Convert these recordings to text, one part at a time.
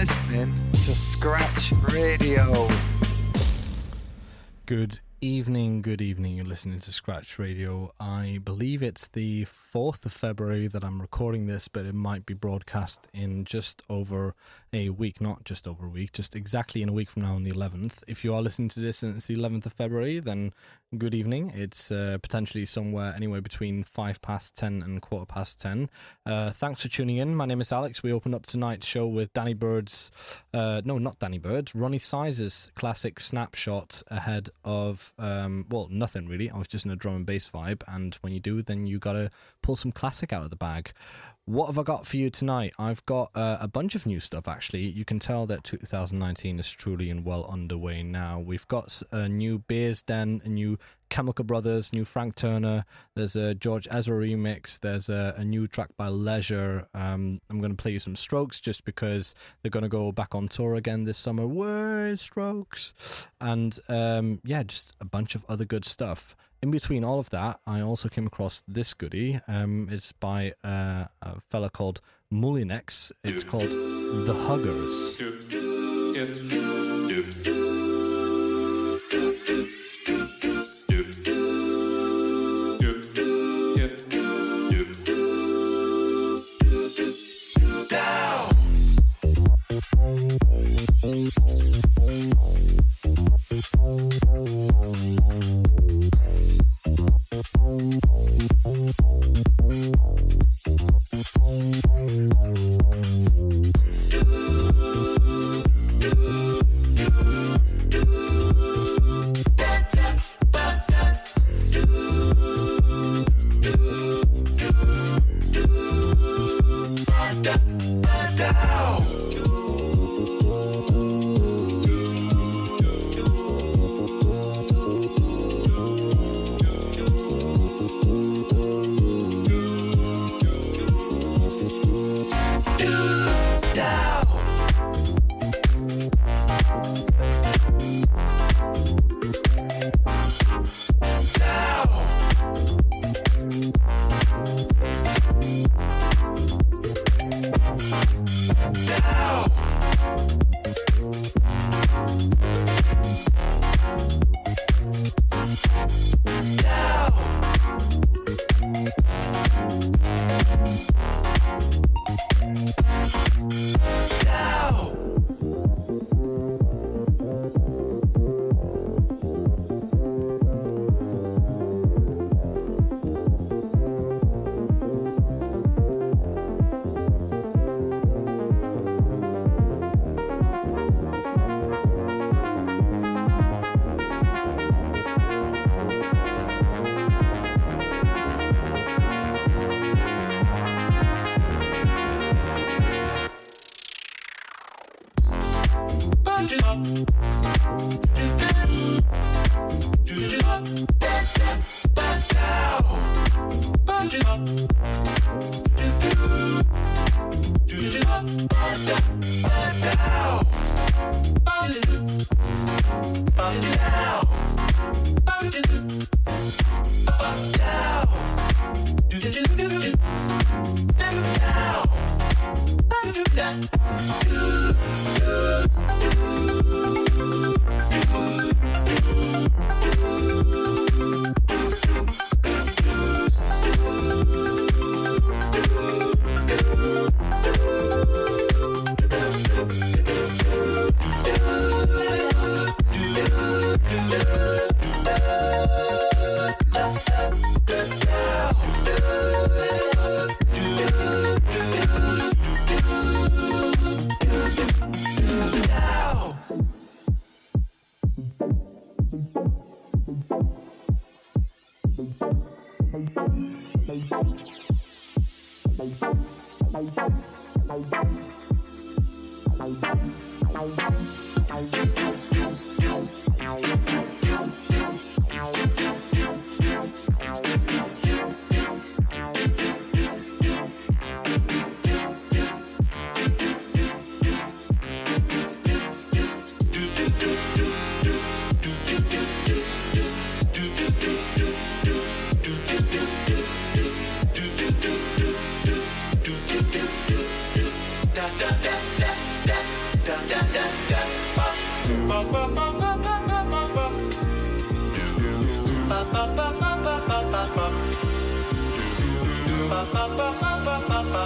listening to Scratch Radio. Good evening. You're listening to Scratch Radio. I believe it's the 4th of February that I'm recording this, but it might be broadcast in just over a week, not just over a week, just exactly in a week from now on the 11th. If you are listening to this and it's the 11th of February, then good evening. It's potentially somewhere anywhere between 10:05 and 10:15. Thanks for tuning in. My name is Alex. We opened up tonight's show with Danny Bird's, not Danny Bird, Ronnie Sizer's classic Snapshot ahead of, nothing really. I was just in a drum and bass vibe, and when you do, then you gotta pull some classic out of the bag. What have I got for you tonight? I've got a bunch of new stuff, actually. You can tell that 2019 is truly and well underway now. We've got a new Beers Den, a new Chemical Brothers, new Frank Turner. There's a George Ezra remix. There's a new track by Leisure. I'm going to play you some Strokes just because they're going to go back on tour again this summer. Where's Strokes? And just a bunch of other good stuff. In between all of that, I also came across this goodie. It's by a fella called Mullinex. It's called The Huggers.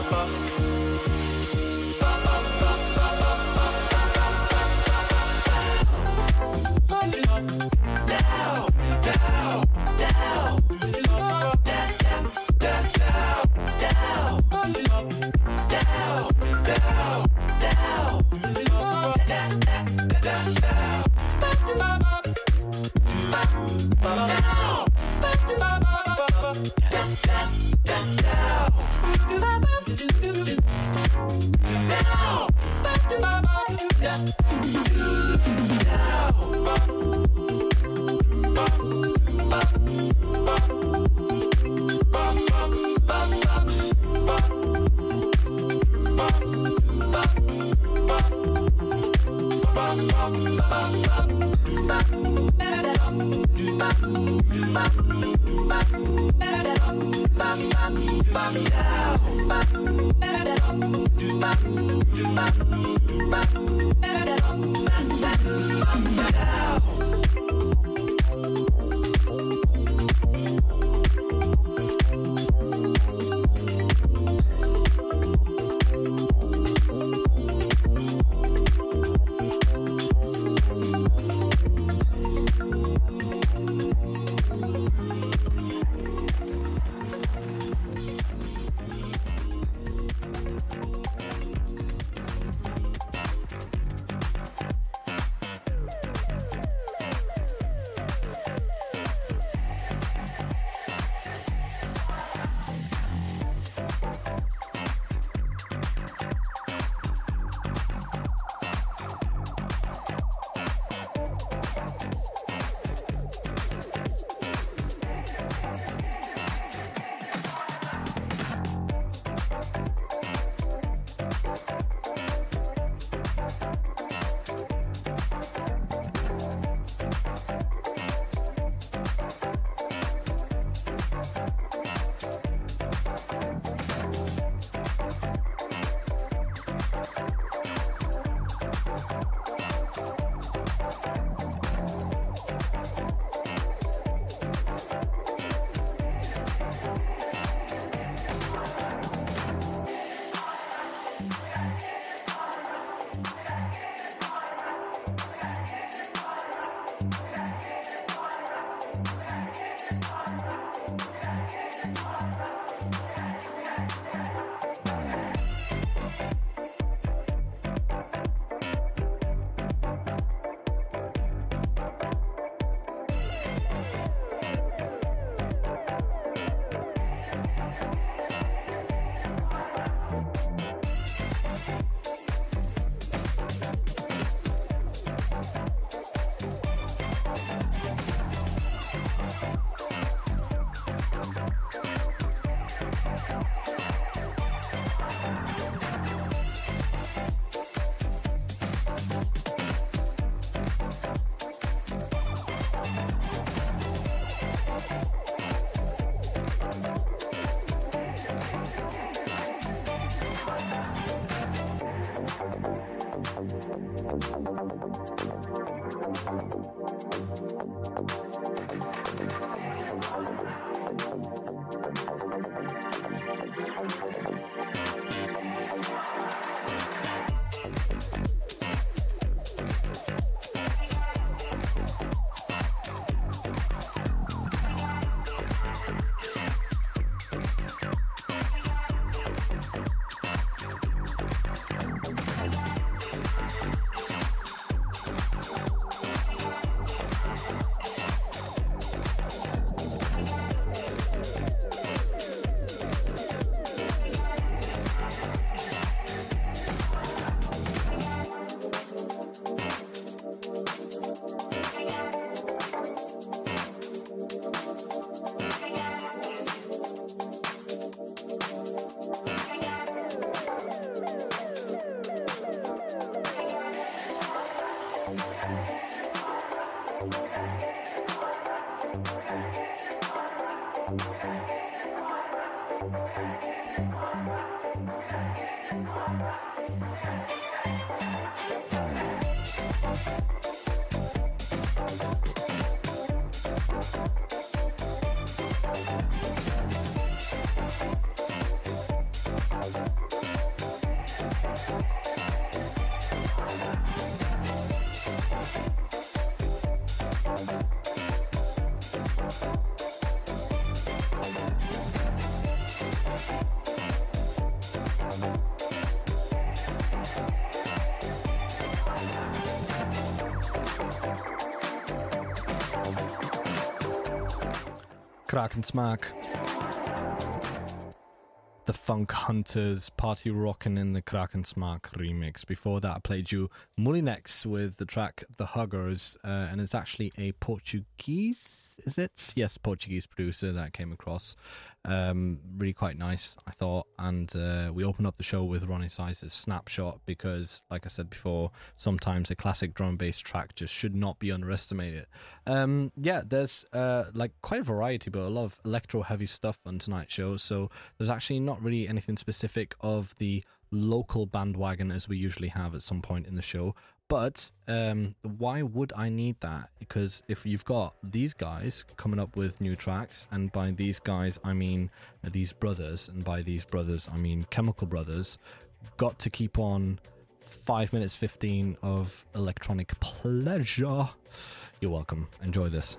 Bye. Krakensmaak. The Funk Hunters, Party Rockin' in the Krakensmaak remix. Before that, I played you Molinex with the track The Huggers, and it's actually a Portuguese, is it? Yes, Portuguese producer that came across. Really quite nice, I thought. And we opened up the show with Ronnie Size's Snapshot because, like I said before, sometimes a classic drum and bass track just should not be underestimated. Yeah, there's like quite a variety, but a lot of electro-heavy stuff on tonight's show, so there's actually not really anything specific of the local bandwagon as we usually have at some point in the show. But why would I need that? Because if you've got these guys coming up with new tracks, and by these guys I mean these brothers, and by these brothers I mean Chemical Brothers, got to keep on 5 minutes 15 of electronic pleasure. You're welcome. Enjoy this.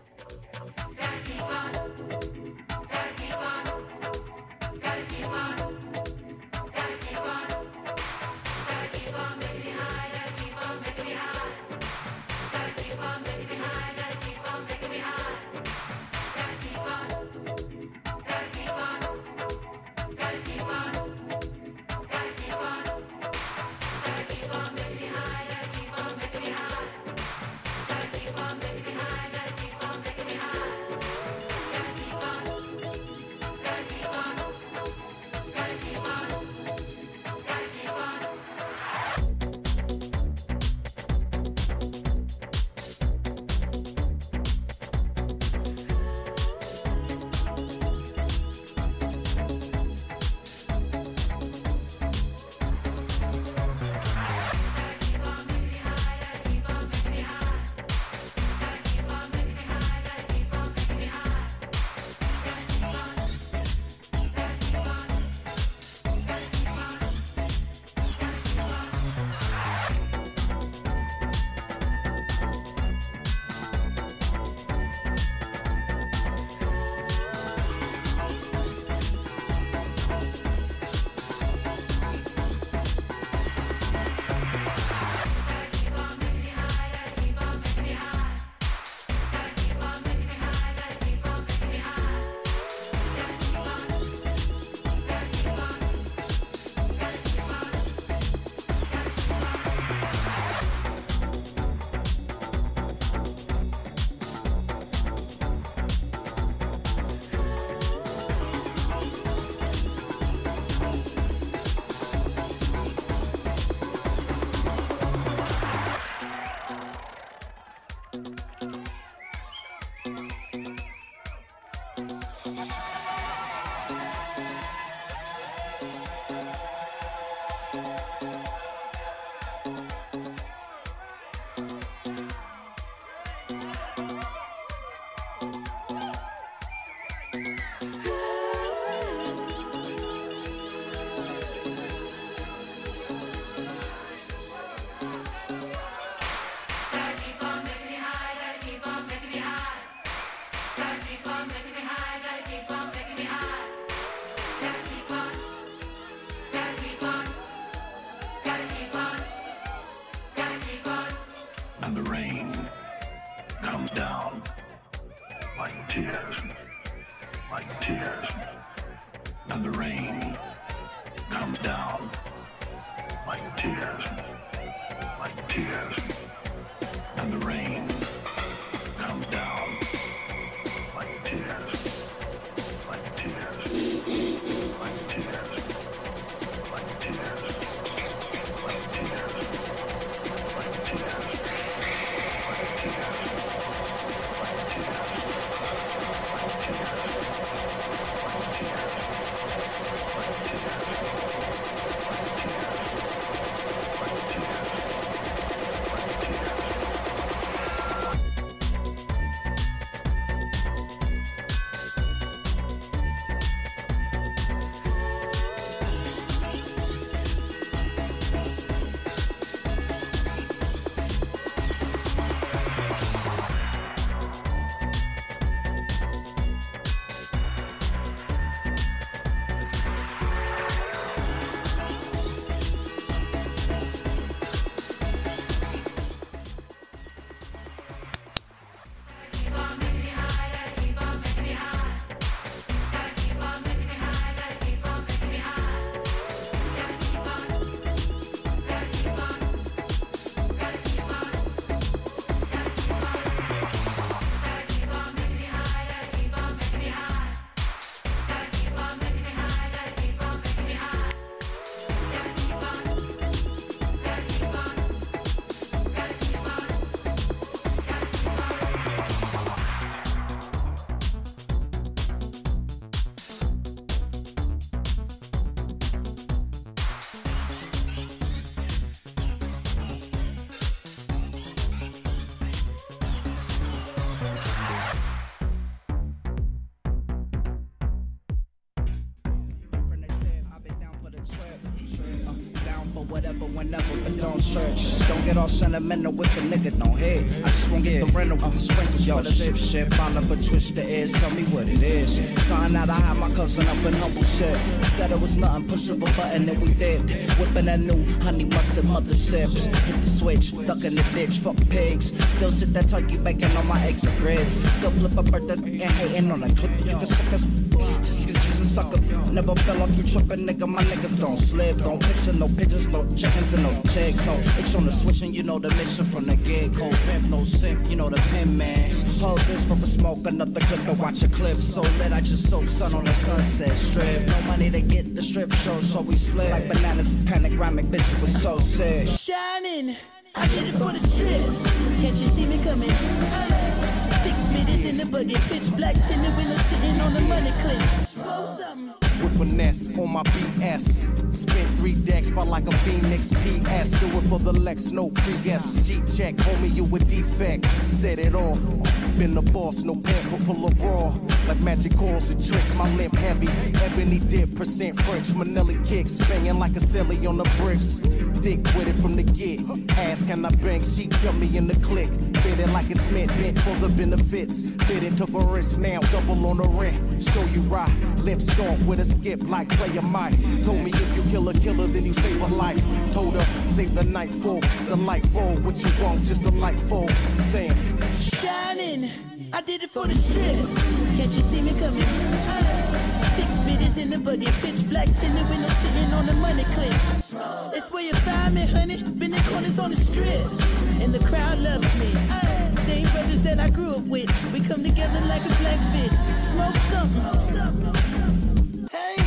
whatever, whenever, but don't search. Don't get all sentimental with the nigga, don't hit. I just won't get the rental with the sprinkles. Yo, shit, follow but twist the ears, tell me what it is. Sign out, I had my cousin up in humble shit. Said it was nothing, push up a button and we did. Whipping that new honey mustard mother sips. Hit the switch, duck in the ditch, fuck pigs. Still sit that turkey bacon on my eggs and grits. Still flip a birthday and hating on a clip. You can suck us just cause you's a sucker. Never fell off you trippin', nigga. My niggas don't slip. Don't picture no pigeons, no chickens and no chicks. No itch on the switch and you know the mission from the gig. Cold pimp, no simp, you know the pin man. Hold this from a smoke, another clip to watch a clip. So lit, I just soak sun on the sunset strip. No money to get the strip show, so we split. Like bananas, panoramic, bitch, it was so sick. Shining, I did it for the strips. Can't you see me coming? Thick bitches in the buggy, pitch blacks in the window, sitting on the money clip. With finesse on my BS. Spent 3 decks, felt like a Phoenix PS. Do it for the Lex, no pre-S. G-check, homie, you a defect. Set it off. Been the boss, no pamper, pull a raw. Like magic calls and tricks, my limp heavy. Ebony dip, percent French. Manelli kicks, banging like a celly on the bricks. Thick with it from the get. Ask, can I bang? She jump me in the click. Fit it like it's meant, bent for the benefits. Fit it, took a risk, now double on the rent. Show you right, limp stomp with a skip like player Mike. Told me if you kill a killer, then you save a life. Told her, save the night for the light fall. What you want, just a light fall. Saying, shining, I did it for the strip. Can't you see me coming? Thick bitches in the buggy, pitch blacks in the window, sitting on the money clip. It's where you find me, honey. Been in corners on the strips, and the crowd loves me. Same brothers that I grew up with. We come together like a black fist. Smoke some. Hey,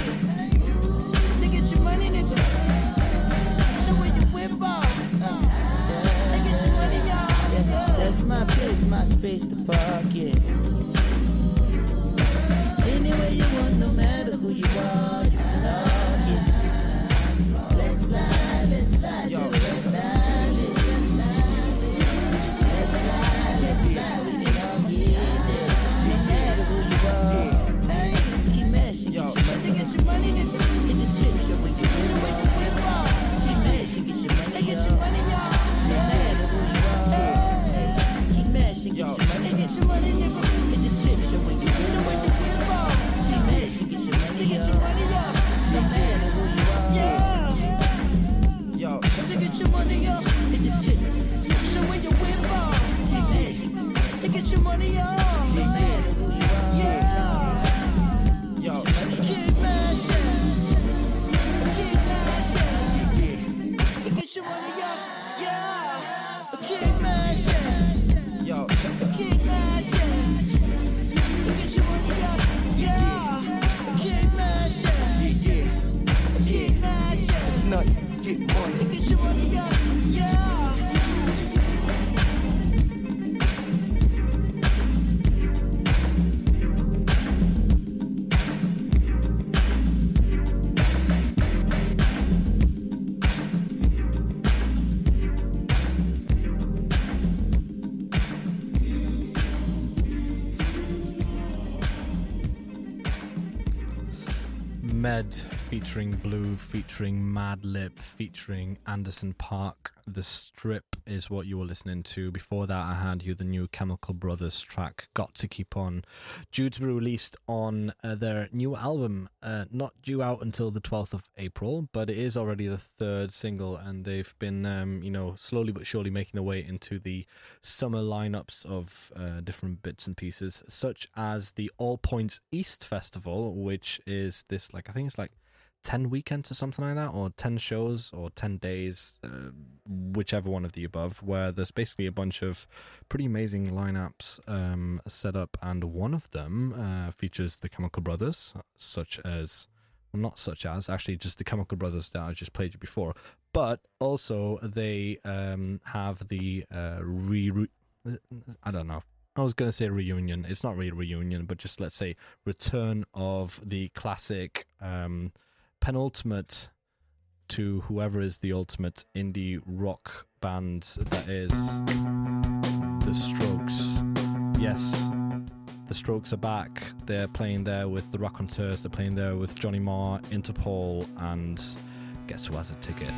to get your money, nigga. Show where you whip off. And get your money, y'all. That's my place, my space to park, yeah. Anywhere you want, no matter who you are, you can log it. Let's slide to the left side. Let's slide, we can all get there. No matter who you are, hey, keep mashing, get your money, hit the description when you whip off. Keep mashing, get your money, y'all. No matter who you are, keep mashing, get your money, hit the description when you whip off. Keep mashing, get your money, y'all. No matter who you are, yo, get your money, y'all. Hit the description when you whip off. Keep mashing, get your money, y'all. No matter who you are, yeah. Yo, keep mashing. Get your money, y'all. Yeah. Keep mashing. Yo, keep mashing. Get your money, y'all. Yeah. Keep mashing. Keep mashing. it's nothing, get money. Get your money, y'all. Yeah. Med featuring Blue, featuring Madlib, featuring Anderson .Paak. The Strip is what you were listening to. Before that, I had you the new Chemical Brothers track, Got to Keep On, due to be released on their new album, not due out until the 12th of April, but it is already the 3rd single, and they've been, slowly but surely making their way into the summer lineups of different bits and pieces, such as the All Points East Festival, which is this, I think it's 10 weekends or something like that, or 10 shows or 10 days, whichever one of the above, where there's basically a bunch of pretty amazing lineups set up, and one of them features the Chemical Brothers, actually just the Chemical Brothers that I just played you before, but also they have the I don't know, I was going to say reunion, it's not really a reunion, but just let's say return of the classic penultimate to whoever is the ultimate indie rock band that is The Strokes. Yes, The Strokes are back. They're playing there with the Raconteurs, they're playing there with Johnny Marr, Interpol, and Guess Who Has a Ticket.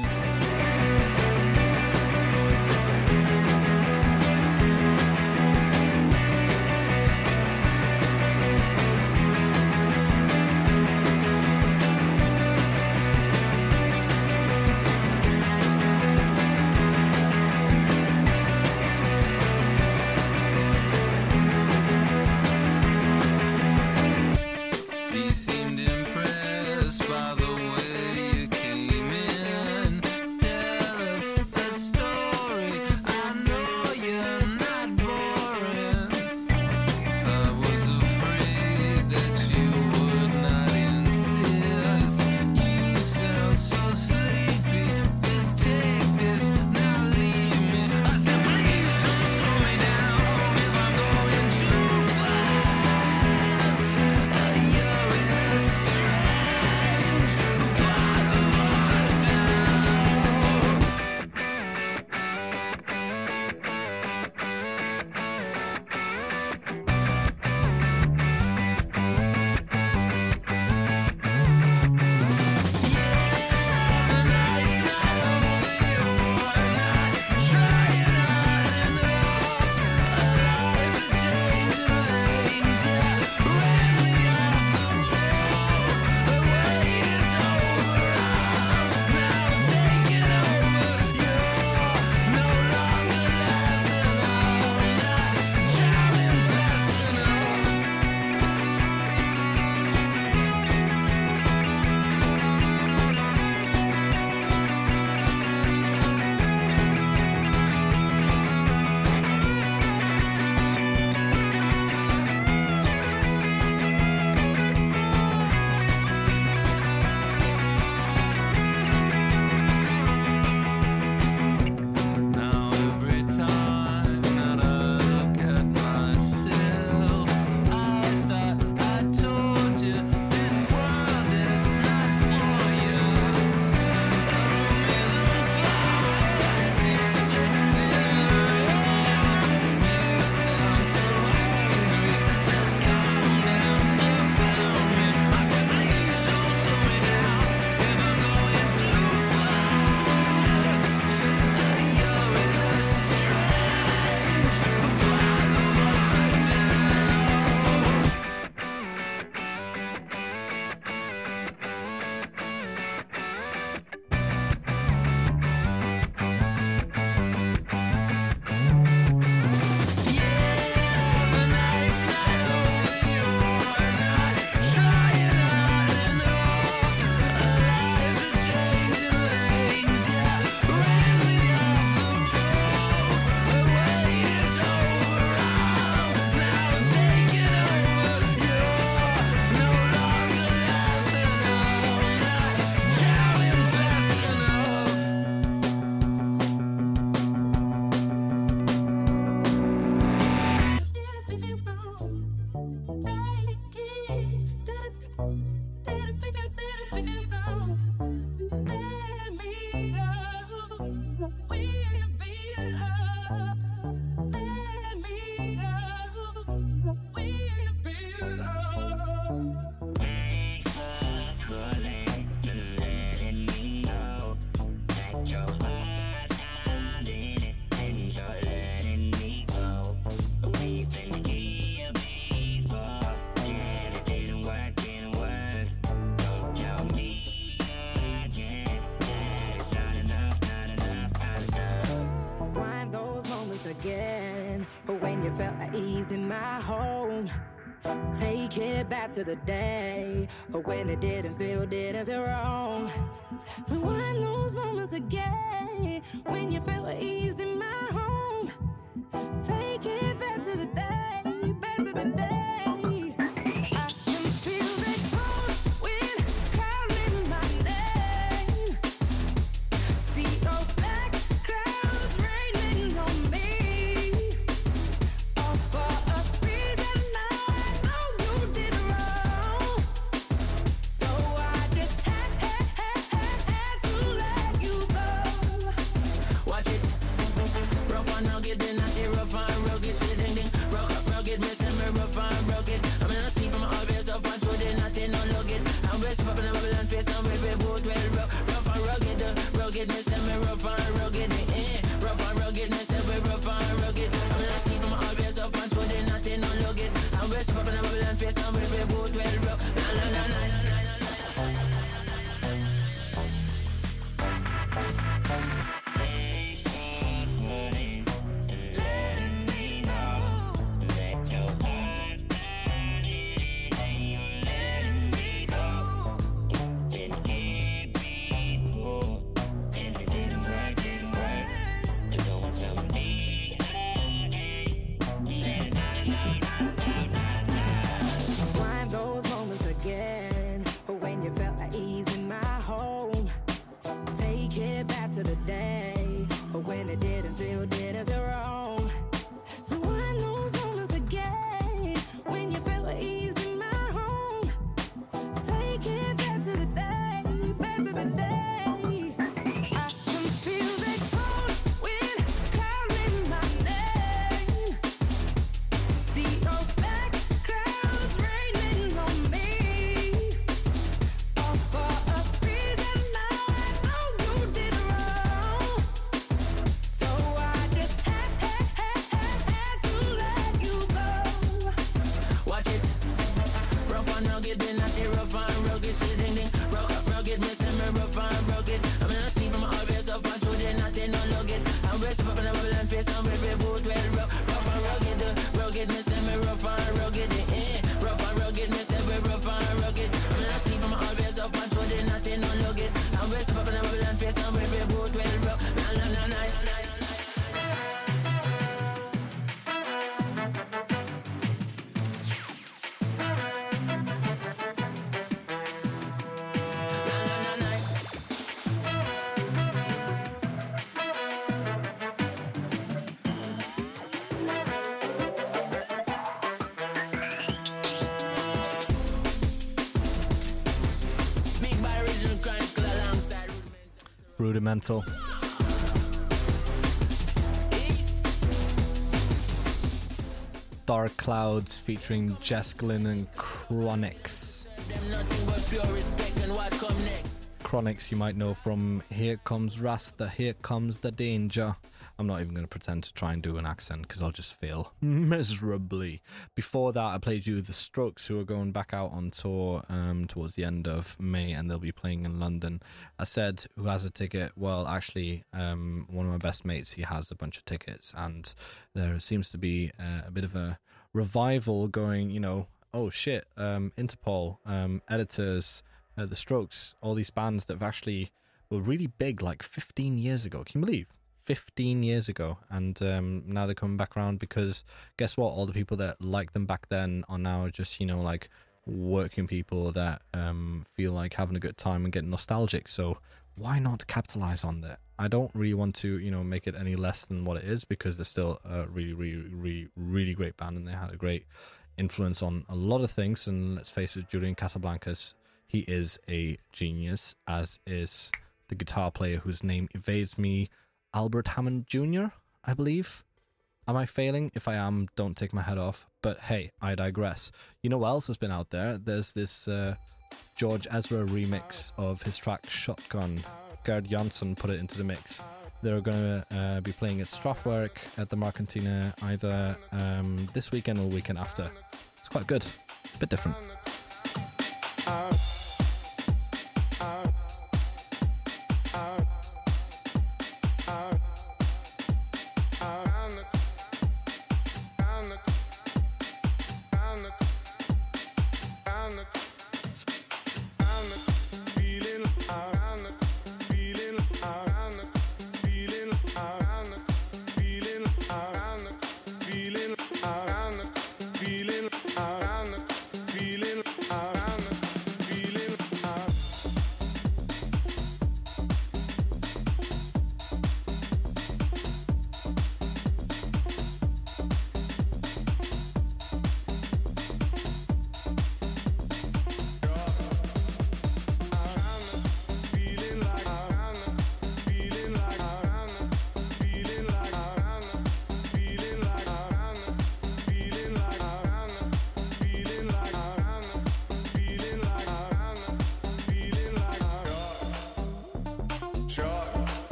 Take it back to the day when it didn't feel wrong. Rewind those moments again when you felt at ease in my home. Take it back to the day, back to the day. Let rugged, me say me rough and rugged, rough and rugged, me say we rough and rugged. I'm gonna see them always up and through the nothing no lug it. And we step up in a bubble and face and we both well rough. Na na na na na na. Rudimental. Dark Clouds featuring Jess Glynn and Chronix. Chronix you might know from Here Comes Rasta, Here Comes the Danger. I'm not even going to pretend to try and do an accent because I'll just fail miserably. Before that, I played you The Strokes, who are going back out on tour towards the end of May, and they'll be playing in London. I said, who has a ticket? Well, actually, one of my best mates, he has a bunch of tickets, and there seems to be a bit of a revival going, you know, oh shit, Interpol, Editors, The Strokes, all these bands that have actually were really big like 15 years ago. Can you believe? 15 years ago, and now they're coming back around because guess what, all the people that liked them back then are now just, you know, like working people that feel like having a good time and getting nostalgic. So why not capitalize on that? I don't really want to, you know, make it any less than what it is, because they're still a really great band, and they had a great influence on a lot of things. And let's face it, Julian Casablancas, he is a genius, as is the guitar player whose name evades me, Albert Hammond Jr., I believe. Am I failing? If I am, don't take my head off. But hey, I digress. You know what else has been out there? There's this George Ezra remix of his track Shotgun. Gerd Jansson put it into the mix. They're going to be playing at Strafwerk at the Marcantina either this weekend or the weekend after. It's quite good. A bit different. Feeling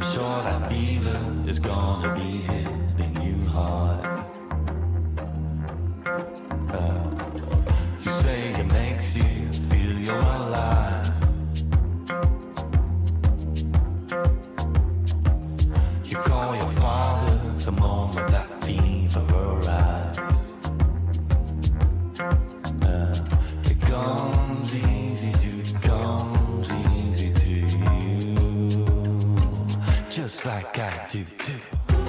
sure that fever is gonna be hitting you hard. You say it makes you feel you're alive. You call your father the moment that fever arrives. It comes easy to you, just like I do too.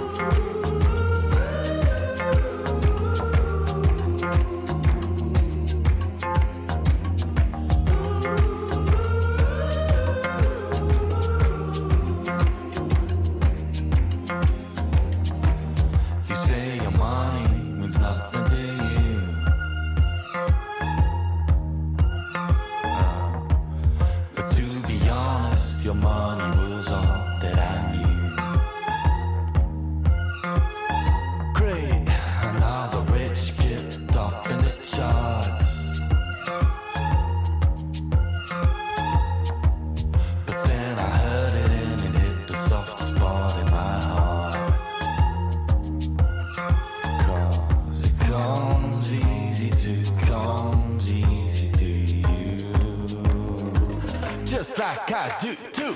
Like I do too.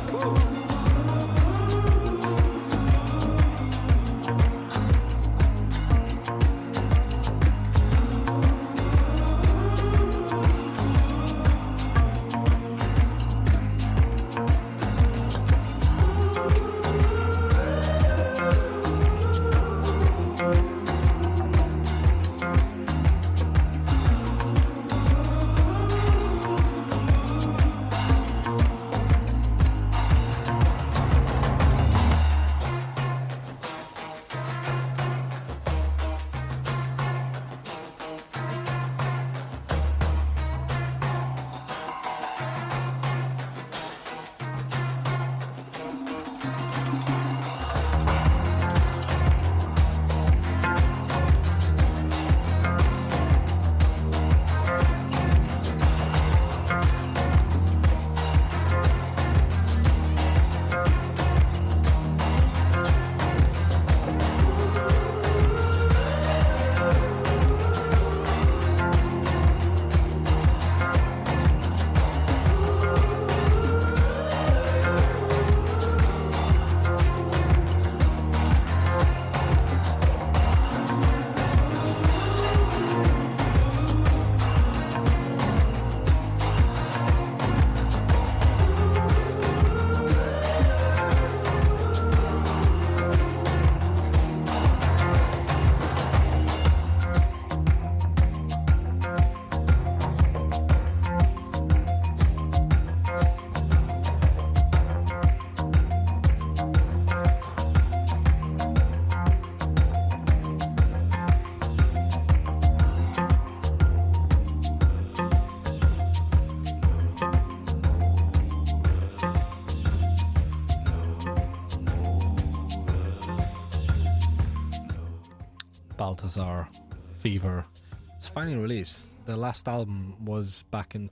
Balthazar Fever. It's finally released. The last album was back in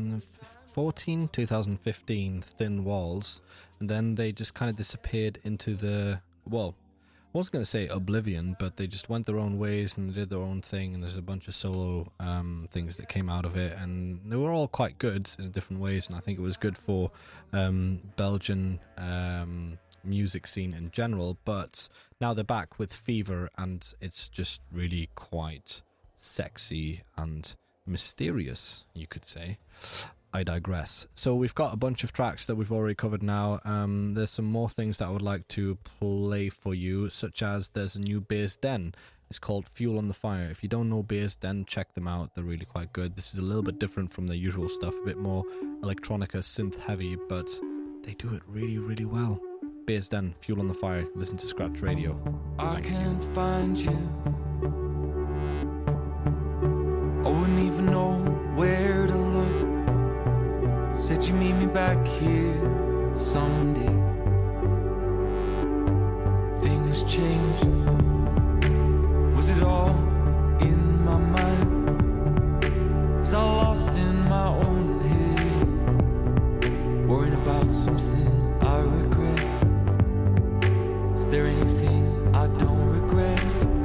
2014, 2015, Thin Walls, and then they just kind of disappeared into the, well, I wasn't going to say oblivion, but they just went their own ways and they did their own thing, and there's a bunch of solo things that came out of it, and they were all quite good in different ways, and I think it was good for Belgian music scene in general. But now they're back with Fever, and it's just really quite sexy and mysterious, you could say. I digress. So we've got a bunch of tracks that we've already covered now. There's some more things that I would like to play for you, such as there's a new Beers Den. It's called Fuel on the Fire. If you don't know Beers Den, check them out. They're really quite good. This is a little bit different from the usual stuff, a bit more electronica, synth heavy, but they do it really, really well. Beers Den, Fuel on the Fire. Listen to Scratch Radio. I can't find you. I wouldn't even know where to look. Said you meet me back here someday. Things changed. Was it all in my mind? Was I lost in my own head, worrying about something I regret? there anything I don't regret?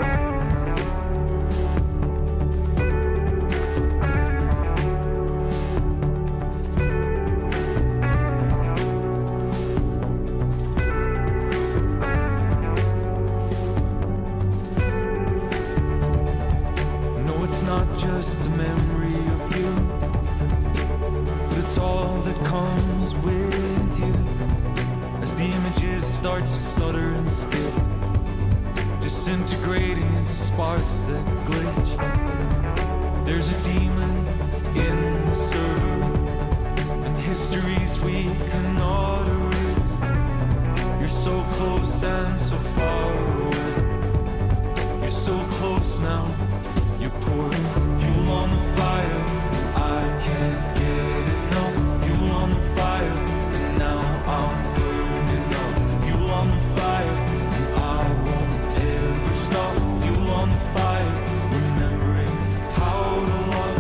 No, it's not just the memory of you, but it's all that comes with you. As the images start to stutter and skip, disintegrating into sparks that glitch. There's a demon in the server, and histories we cannot erase. You're so close and so far away. You're so close now. You're pouring fuel on the fire. I can't get enough. Fuel on the fire, and now I'm burning up. Fuel on the fire, and I won't ever stop. Fuel on the fire, remembering how to love.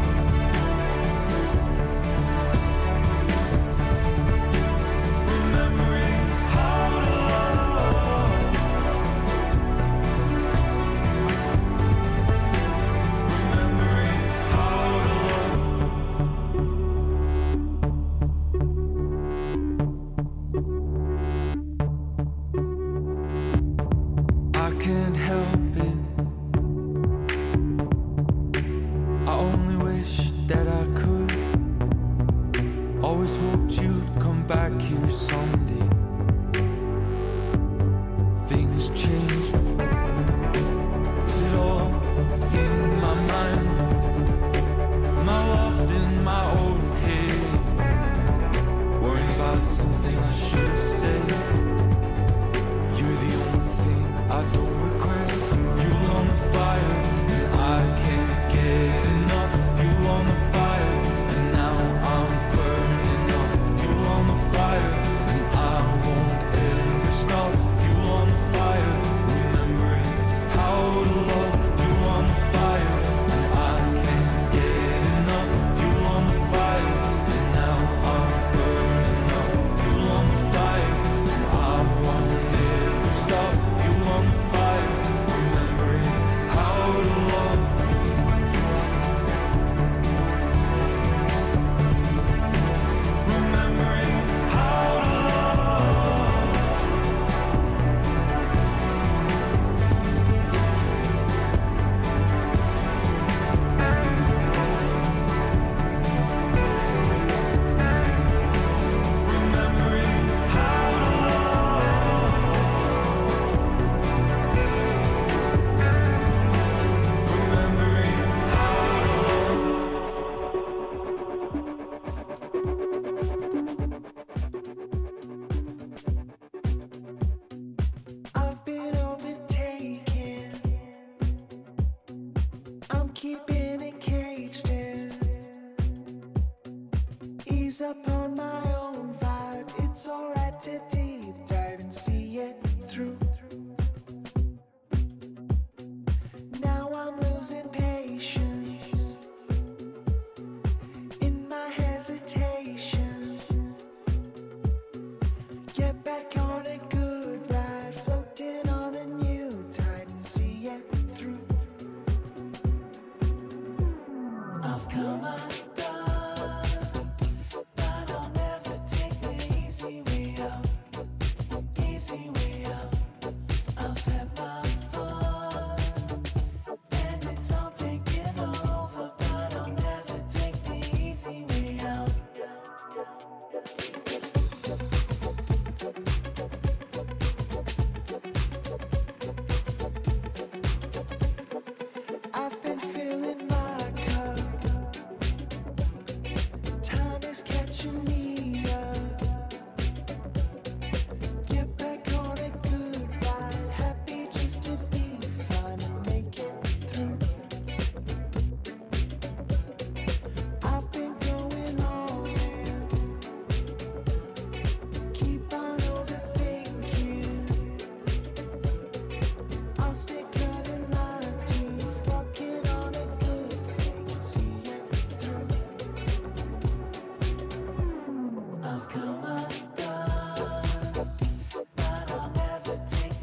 Remembering how to love. Remembering how to love. I can't help it. I only wish that I could. Always hoped you'd come back here someday. Things change. Is it all in my mind? Am I lost in my own head? Worrying about something I should have said. You're the only thing I don't regret. Fuel on the fire, and I can't get enough. Fuel on the fire, and now I'm burning up. Fuel on the fire, and I won't ever stop. Fuel on the fire, remembering how to love. Fuel on the fire, and I can't get enough. Fuel on the fire, and now I'm burning up. Fuel on the fire, and I won't ever stop. Fuel on the fire, remembering how to love. Remembering how to love. Remembering how to love. Remembering how to love. I've been overtaken. I'm keeping it caged in. Ease up on my own vibe. It's alright to deep dive and see it through. Now I'm losing patience in my hesitation. Get back on a good ride, floating on a new tide and see it through. I've come undone, but I'll never take the easy way out. Easy way out. I've had my fun, and it's all taken over, but I'll never take the easy way out. I've been filling my cup. Time is catching me up. Get back on a good ride. Happy just to be fine and make it through. I've been going all in. Keep on overthinking. I'll stay cutting my teeth, walking on a good thing, see it through. I've come undone, but I'll never take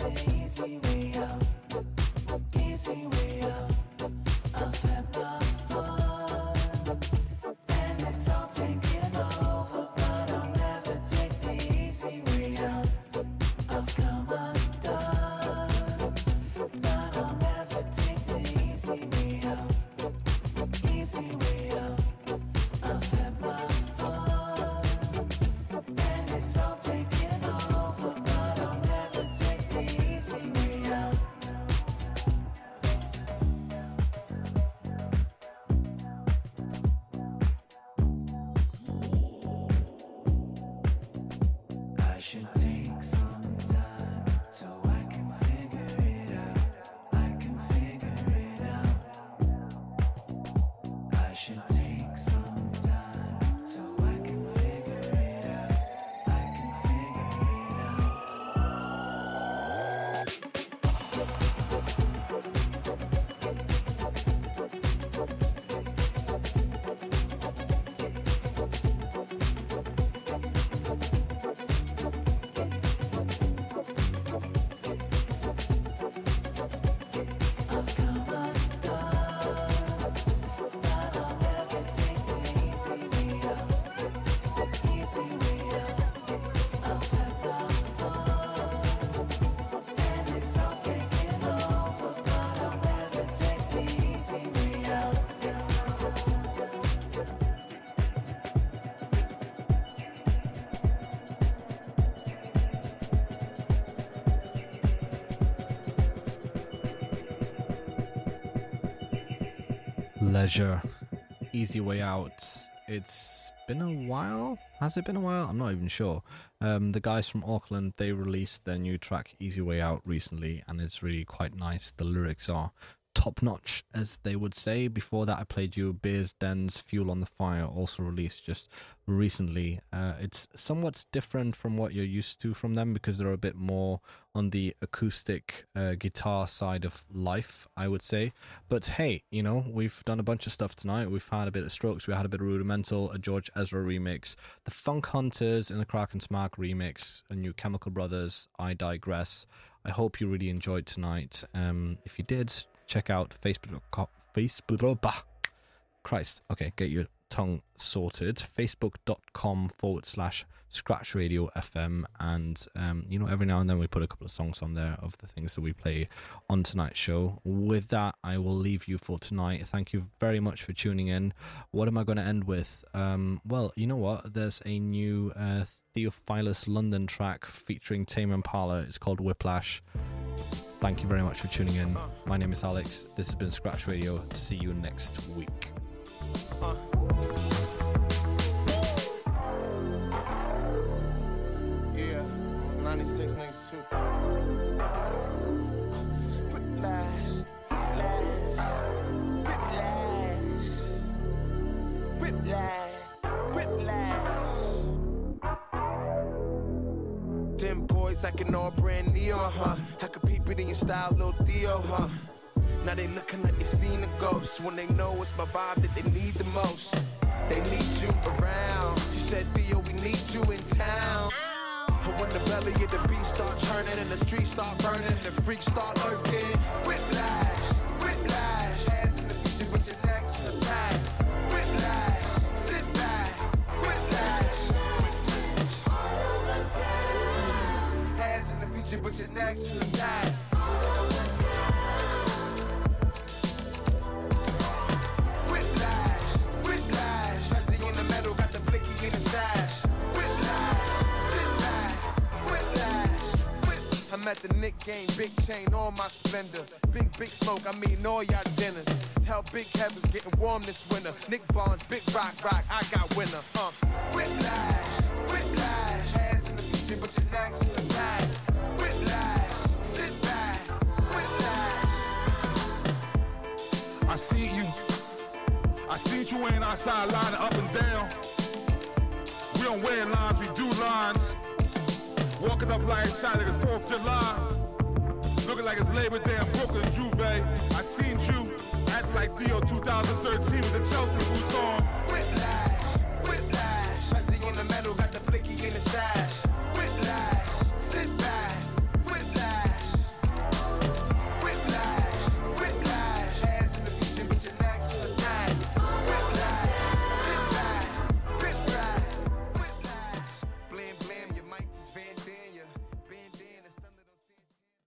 should take some time so I can figure it out. I can figure it out. I should take some time so I can figure it out. I can figure it out. I've come undone, but I'll never take the easy way out. Easy way out. I've had my fun, and it's all taken over, but I'll never take the easy way out. Leisure, Easy Way Out. It's been a while. Has it been a while? I'm not even sure. The guys from Auckland, they released their new track Easy Way Out recently, and it's really quite nice. The lyrics are top notch, as they would say. Before that, I played you Beers Den's Fuel on the Fire, also released just recently. It's somewhat different from what you're used to from them because they're a bit more on the acoustic guitar side of life, I would say. But hey, you know, we've done a bunch of stuff tonight. We've had a bit of Strokes, we had a bit of Rudimental, a George Ezra remix, the Funk Hunters in the Kraken's Mark remix, a new Chemical Brothers, I Digress. I hope you really enjoyed tonight. If you did, check out Facebook. Christ. Okay, get your tongue sorted. Facebook.com/Scratch Radio FM. And, you know, every now and then we put a couple of songs on there of the things that we play on tonight's show. With that, I will leave you for tonight. Thank you very much for tuning in. What am I going to end with? Well, you know what? There's a new Theophilus London track featuring Tame Impala. It's called Whiplash. Thank you very much for tuning in. My name is Alex. This has been Scratch Radio. See you next week. Yeah, 96 niggas too. Whiplash, whiplash, whiplash, whiplash. Them boys acting all brand new, huh? I could peep it in your style, Lil Theo, huh? Now they looking like they seen a ghost when they know it's my vibe that they need the most. They need you around. She said, Theo, we need you in town. And when the belly of the beast start turning and the streets start burning and the freaks start lurking, whiplash, whiplash. Hands in the future, but your neck's in the past. Whiplash, sit back, whiplash. Hands in the future, but your neck's in the past. Whiplash, whiplash. Jesse in the metal, got the blicky in the stash. I'm at the Nick game, big chain on my Splendor. Big smoke, I mean all y'all dinners. Tell Big Kevin's getting warm this winter. Nick Barnes, big rock, I got winner. Whiplash, whiplash. Hands in the future, but your neck's in the past. Whiplash, sit back, whiplash. I see you ain't outside lining up and down. We don't wear lines, we do lines. Walking up like it's shot like it's 4th of July. Looking like it's Labor Day in Brooklyn, Juve. I seen you acting like Theo 2013 with the Chelsea boots on. Whiplash, whiplash. Jesse in the metal, got the blicky